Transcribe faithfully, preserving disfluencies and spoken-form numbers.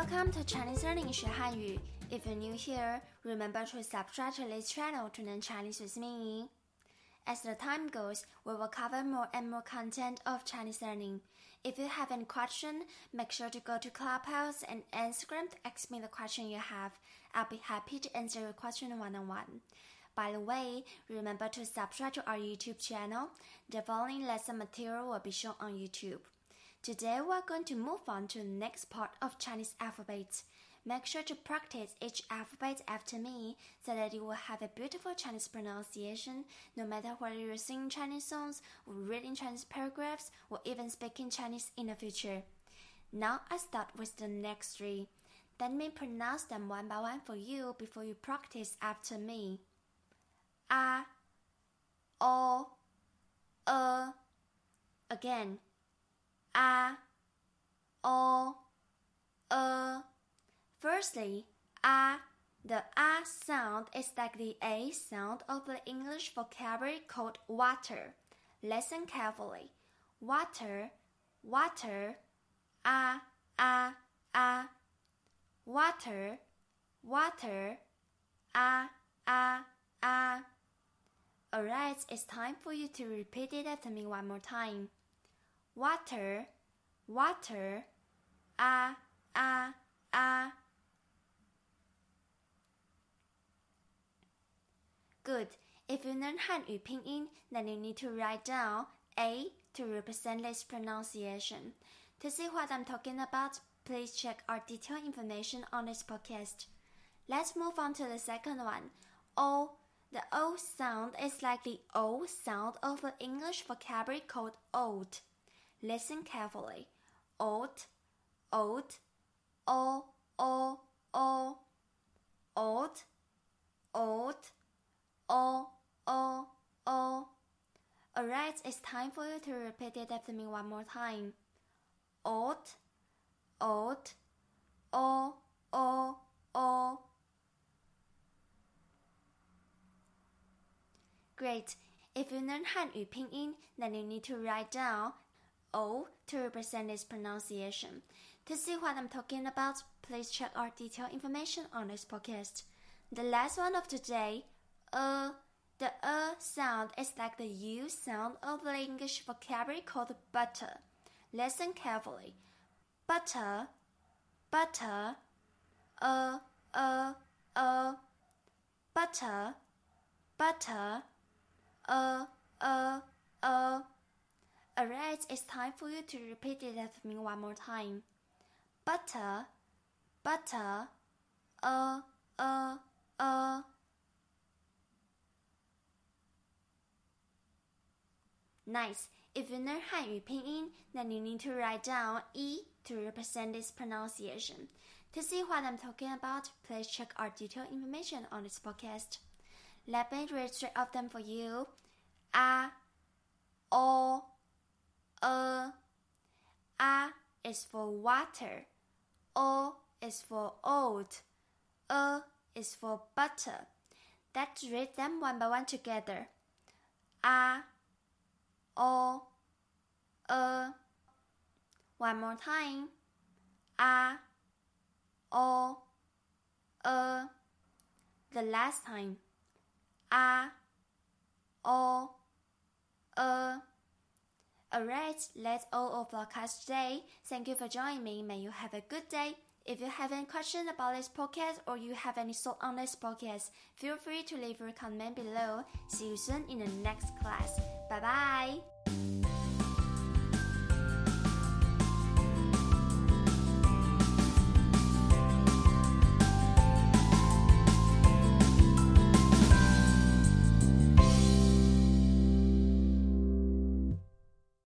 Welcome to Chinese Learning 学汉语 If you're new here, remember to subscribe to this channel to learn Chinese with me. As the time goes, we will cover more and more content of Chinese learning. If you have any question, make sure to go to Clubhouse and Instagram to ask me the question you have. I'll be happy to answer your question one-on-one. By the way, remember to subscribe to our YouTube channel. The following lesson material will be shown on YouTube. Today we're going to move on to the next part of Chinese alphabet. Make sure to practice each alphabet after me so that you will have a beautiful Chinese pronunciation no matter whether you're singing Chinese songs or reading Chinese paragraphs or even speaking Chinese in the future. Now I start with the next three. Let me pronounce them one by one for you before you practice after me. A, O, E. Again. A, O, E. Firstly, A. The A sound is like the A sound of the English vocabulary called water. Listen carefully. Water, water, A, A, A. Water, water, A, A, A. Alright, it's time for you to repeat it after me one more time. Water, water, A, A, A. Good. If you learn Hanyu pinyin, then you need to write down A to represent this pronunciation. To see what I'm talking about, please check our detailed information on this podcast. Let's move on to the second one. O. The O sound is like the O sound of the English vocabulary called oat. Listen carefully. Oat, oat, O, O, O. Oat, oat, O, O, O. Alright, it's time for you to repeat it after me one more time. Oat, oat, O, O, O. Great. If you learn Hanyu pinyin, then you need to write down O to represent this pronunciation. To see what I'm talking about, please check our detailed information on this podcast. The last one of today, E. The E sound is like the U sound of the English vocabulary called butter. Listen carefully. Butter, butter, E, E, E. Butter, butter, E, E, E. Alright, it's time for you to repeat it after me one more time. Butter, butter, E, E, E. Nice. If you learn Hanyu pinyin, then you need to write down E to represent this pronunciation. To see what I'm talking about, please check our detailed information on this podcast. Let me read three of them for you. A, O, E. A is for water. O is for oat. E is for butter. Let's read them one by one together. A, O, E. One more time. A, O, E. The last time. A, O, E. Alright, that's all of our class today. Thank you for joining me. May you have a good day. If you have any questions about this podcast or you have any thought on this podcast, feel free to leave a comment below. See you soon in the next class. Bye bye.